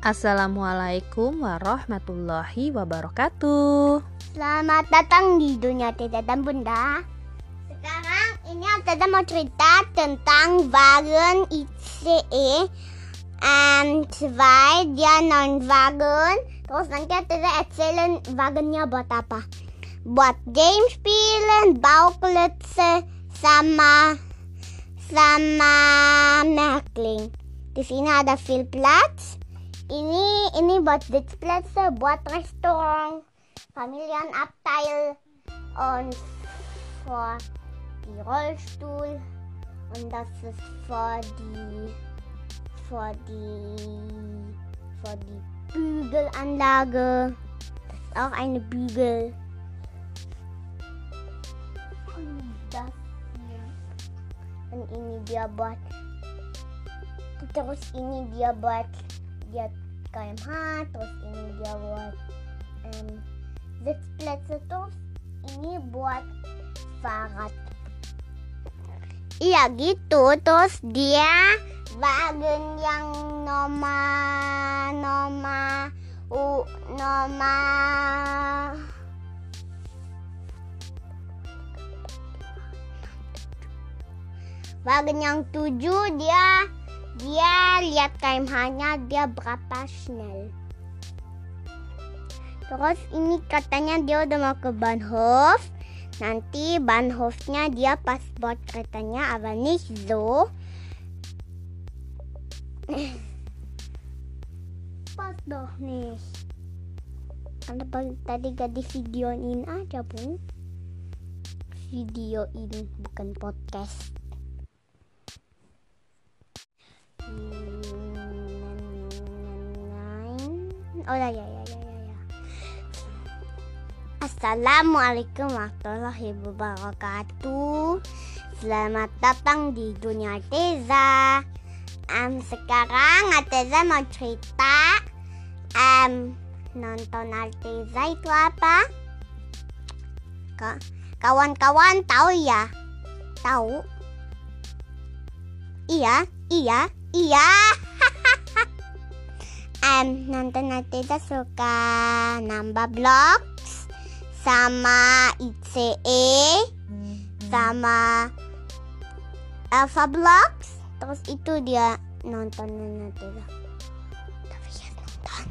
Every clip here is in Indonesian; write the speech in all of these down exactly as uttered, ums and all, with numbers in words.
Assalamualaikum warahmatullahi wabarakatuh. Selamat datang di dunia Teta dan Bunda. Sekarang ini Teta mau cerita tentang wagen I C E and zwei, dia neuen Wagen. Terus nanti Teta erzählen wagennya buat apa. Buat game spielen, Bauklötze sama sama Märkling. Di sini ada viel Platz. Ini ini buat Sitzplätze, buat Restaurant, Familienabteil und für die Rollstuhl und das ist für die für die für die Bügelanlage. Das ist auch eine Bügel. Und das hier. Und ini dia buat terus ini dia buat dia K M H, terus ini dia buat um, Sitzplätze, terus ini buat Fahrrad. Iya gitu, terus dia wagen yang nomor nomor u nomor wagen yang tujuh dia Dia lihat K M H-nya, dia berapa schnell. Terus ini katanya dia udah mau ke Bahnhof. Nanti Bahnhofnya dia pas buat keretanya, aber nicht so. Pas doch nicht. Karena tadi gak di videoin aja, Bung. Videoin, bukan podcast. Oh ya ya ya ya ya. Assalamualaikum warahmatullahi wabarakatuh. Selamat datang di dunia Teza. Um, sekarang Teza mau cerita. Um, nonton Alteza itu apa? Kawan-kawan tahu ya? Tahu? Iya, iya, iya. Um, nonton Teta suka nambah blocks sama I C E sama Alpha Blocks. Terus itu dia nonton Teta. Tapi ya nonton.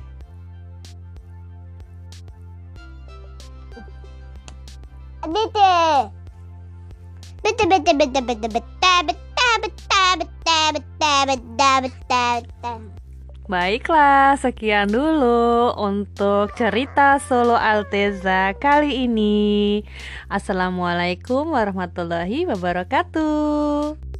Bitte. Bitte, bitte, bitte, bitte, bitte, bitte, bitte, bitte, bitte, bitte, bitte, bitte. Baiklah, sekian dulu untuk cerita solo Alteza kali ini. Assalamualaikum warahmatullahi wabarakatuh.